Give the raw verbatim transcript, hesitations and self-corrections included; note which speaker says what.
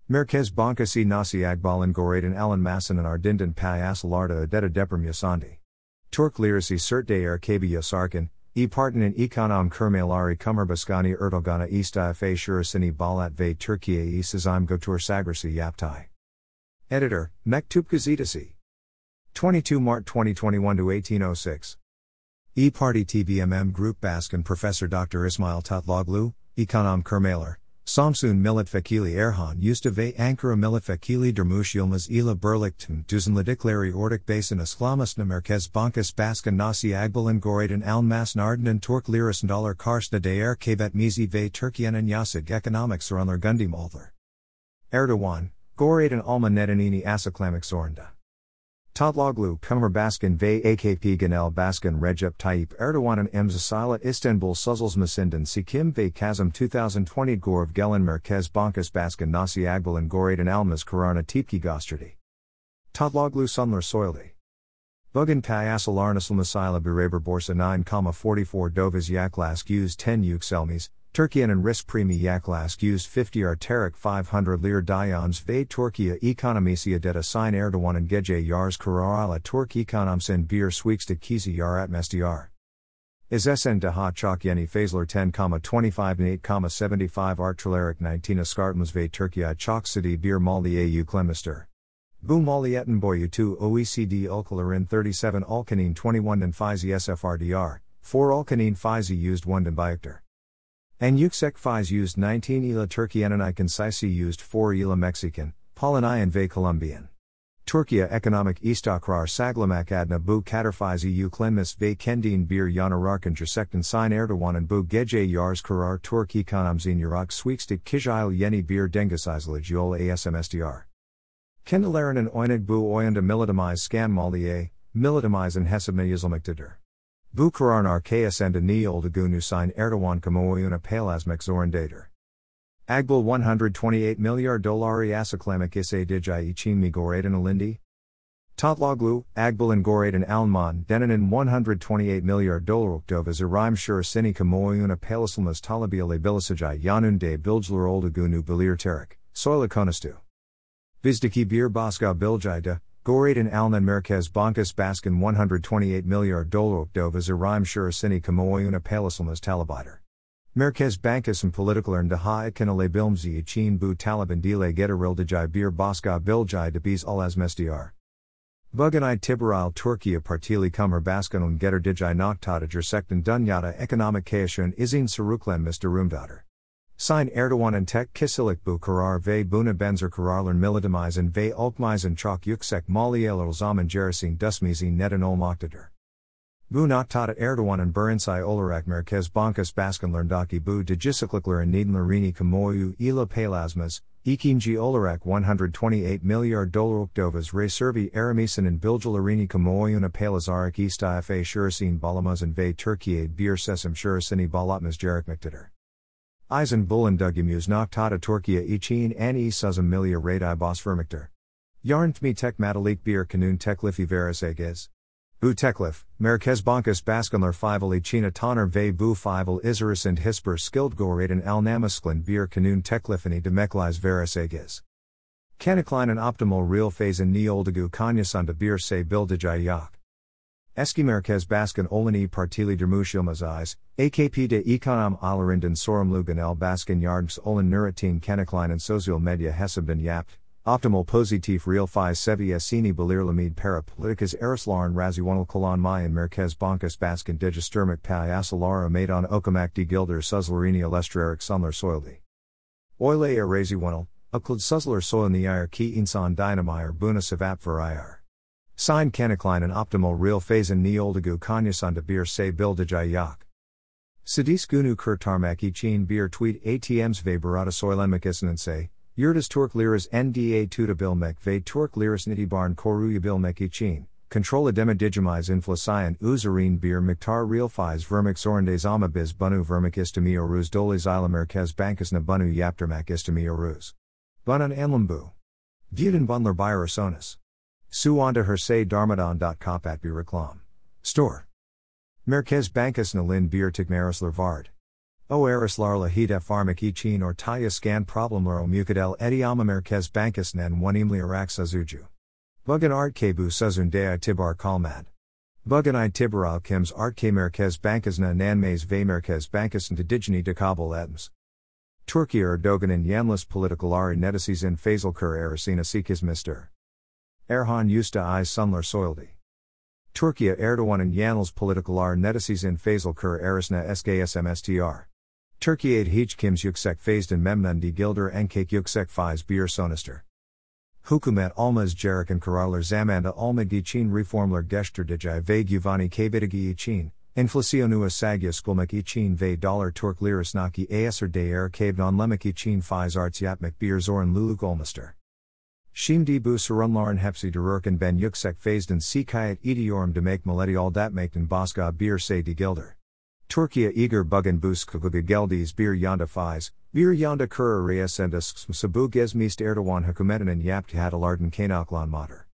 Speaker 1: Merkez Bankası Nasi Agbal'ın Goraydın Alan Masan and Ardindin Payasalarda Adeta Deprem Yasandi. Turk Lirisi Sert Değer Kabi Yasarkin, E Partinin Ekonom Kurmaları Cumhurbaşkanı Erdoğan'a istifa Şurasini Balat ve Türkiye'yi Sizim Götür Sagrisi Yaptay. Editor, Mektup Gazetesi. twenty-two March twenty twenty-one to eighteen oh six. E Party T V M M Group Baskin Professor Doctor Ismail Tatloglu, Ekonom Kurmalar, Samsun Milletvekili Erhan Usta ve Ankara Milletvekili Durmuş Yilmaz ile Birlikte Düzenledikleri Ortak Basin Islamasna Merkez Bankası Baskin Nasi Agbal'ın Goraydın Almasın Ardından Türk Lirasında Dolar Karşısında Değer Kaybetmesi ve Türkiye'nin Yasig Ekonomik Sorunlar Gündemolder. Erdoğan, Goraydın Alma Nedenini Açıklamak Zorunda. Tatloglu Cumhurbaşkanı ve A K P Genel Başkan Recep Tayyip Erdoğan'ın imzasıyla İstanbul Sözleşmesi'nden Seçim ve Kasım twenty twenty Görev Gelen Merkez Bankası Başkan Nasi Agbal'ın Goraydın Almas kararına tepki gösterdi. Tatloglu sunlar soyuldu. Bugün Payasalar Nasılmasıyla Beraber Borsa nine forty-four Döviz Yaklaşık yüz ten yükselmiş, Türkiye'nin risk primi yaklaşık yüz fifty artarak five hundred lir dayans ve Türkiye ekonomisi adeta sign Erdoğan'ın gece yarısı kararıyla Türk ekonomisinin bir swikstik kisi yaratması. İzesen daha çok yeni fazlar ten twenty-five and eight seventy-five artilleric nineteen askartımız ve Türkiye çok city bir maliye yüklenmiştir. Bu maliyetin boyutu O E C D ülkelerin thirty-seven ülkenin twenty-one faizi sıfır, four ülkenin faizi used one bayıktır. En yüksek faiz used nineteen ila Türkiye'nin ikansisi used four ila Mexican, Polonyan ve Colombian. Türkiye ekonomik istikrar saglamak adına bu kadar faizi yüklenmiş ve kendin bir yanararken gerçekten sign Erdoğan'ın bu gece yarısı karar Türk ekonomisinin yarak swikstik kişil yeni bir dengesizlik yol asmstr. Kendilerinin oynadığı bu oyunda militamize scanmaliye, militamizen hesabına yazılmaktadır. Bu kararın arkasında ne olduğunu sign Erdoğan kamuoyuna paylaşmak zorundadır. Agbal one hundred twenty-eight milyar doları açıklamak istediği için mi Goraydın alindi? Tatloglu, Agbal'ın Goraydın Alman deninin one hundred twenty-eight milyar dolarlık döviz arayım şurasını kamuoyuna paylaşılmaz talebiyle biliseceği yönünde bilgiler olduğunu belirterek, söyle konustu. Bizdeki bir başka bilgide, Goraydın Alınan Merkez Bankası Baskin one hundred twenty-eight milyar dolarlık döviz arayım şurasını kamuoyuna paylaşılmaz talebidir. Merkez Bankası'nın politikalarını daha etkilanabilmesi için bu talebin dile getirildiği bir başka bilgi de biz alazmestr. Bugün itibarıyla Türkiye Partili Cumhurbaşkanı'nın getirdiği noktada gerçekten dünyada ekonomik kayışın izin sürüklenmiş durumdadır. Sign Erdoğan'ın tek kişilik bu karar ve buna benzer kararların militamizen ve ülkemizin çok yüksek maliyeler zaman gerisin düşmesi neden olmaktadır. Bu noktada Erdoğan'ın birinci olarak Merkez Bankası Başkanlarındaki bu değişikliklerin nedenlerini kamuoyu ile paylaşmaz, ikinci olarak one hundred twenty-eight milyar dolarlık döviz reservi aramısının bilgilerini kamuoyuna paylaşarak istifa şurasını bağlamazın ve Türkiye bir seçim şurasını bağlatmaz gerekmektedir. İzin bulunduğumuz noktada Türkiye için en iyi seçim milyar radai basvermektir. Yarntmi tekmatilik bir kanun teklifi verecek. Bu teklif, Merkez Bankası Başkanlar fival içine tanır ve bu fival izarısında hiçbir skilled Goraydın alnamasklan bir kanun teklifini demekliz verecek. Kanıklanan optimal real phase ni olduğu konyasında bir şey bildiği yok. Eski Merkez Başkan olan İYİ Partili Durmuş Yılmaz A K P'de ekonom alarından sorumlu genel başkan yardımcısı olan Nurettin Kanıklanan sosyal medya hesabından yaptı. Optimal pozitif real faiz seviyesini belirlemede para politikas araçların rasyonel kullanmayan Merkez Bankası Başkan değiştirmek payasalara meydan okumak değildir sözlerini eleştirerek sunlar soyuldu. Öyle rasyonel, akıllı sözler soyulmayır ki insan dinamir buna sebep verir. Sign Kanıklanan optimal real phase ni olduğu konyasında bir şey bildiği yok. Sidis gunu kurtarmak için bir tweet atms ve barada soylanmak istenense, Yurdas Türk Liras N D A tutabilmek ve Türk Liras itibarını koruyabilmek için, kontrol edemeyeceğimiz enflasyon üzerine bir miktar real faiz vermek zorundayız ama biz bunu vermek istemiyoruz dolayısıyla Merkez Bankası'na bunu yaptırmak istemiyoruz. Bunun anlamı bu. Buden bunlar bayrasonas. Su anda her say darmadan dot kapat bir reklam. Store. Merkez Bankası'na lin bir tekmaraslar vard. O eris larla hida pharmac ichin or taya scan problem laro mukadel ediama merkez bankus nen one imli arak sazuju. Bugan art kebu sazundea tibar kalmad. Bugan I tibaral kims art ke merkez bankas na nan maze ve merkez bankus and digini de kabul etms. Turkey Erdogan and yanlış politikaları netisiz in fazılkur arasına sekiz mister. Erhan Usta I sunlar soyuldi. Turkey Erdogan and yanlış politikaları netisiz in fazılkur arasına sksmstr. Türkiye hiç kims yüksek fazdan memnun gilder enkek yüksek faiz bir sonister. Hükümet olmaz gereken kararlar zamanda almak için reformlar geçirdiği ve güvani kaybettiği için, enflasyonu asagya için ve dolar Türk lirasındaki eser değer kaybedonlemek için faiz arts yapmak bir zorun luluk olmuştur. Şimdi bu sorunların hepsi dururken ben yüksek fazdan şikayet ediyorum demek milleti aldatmaktan başka bir şey değildir. Türkiye eager bugün buskugluga geldiz bir yanda faiz, bir yanda kura reasendas sabu gezmist Erdoğan hükümetinin yaptı hatalardan kaynaklanmadır.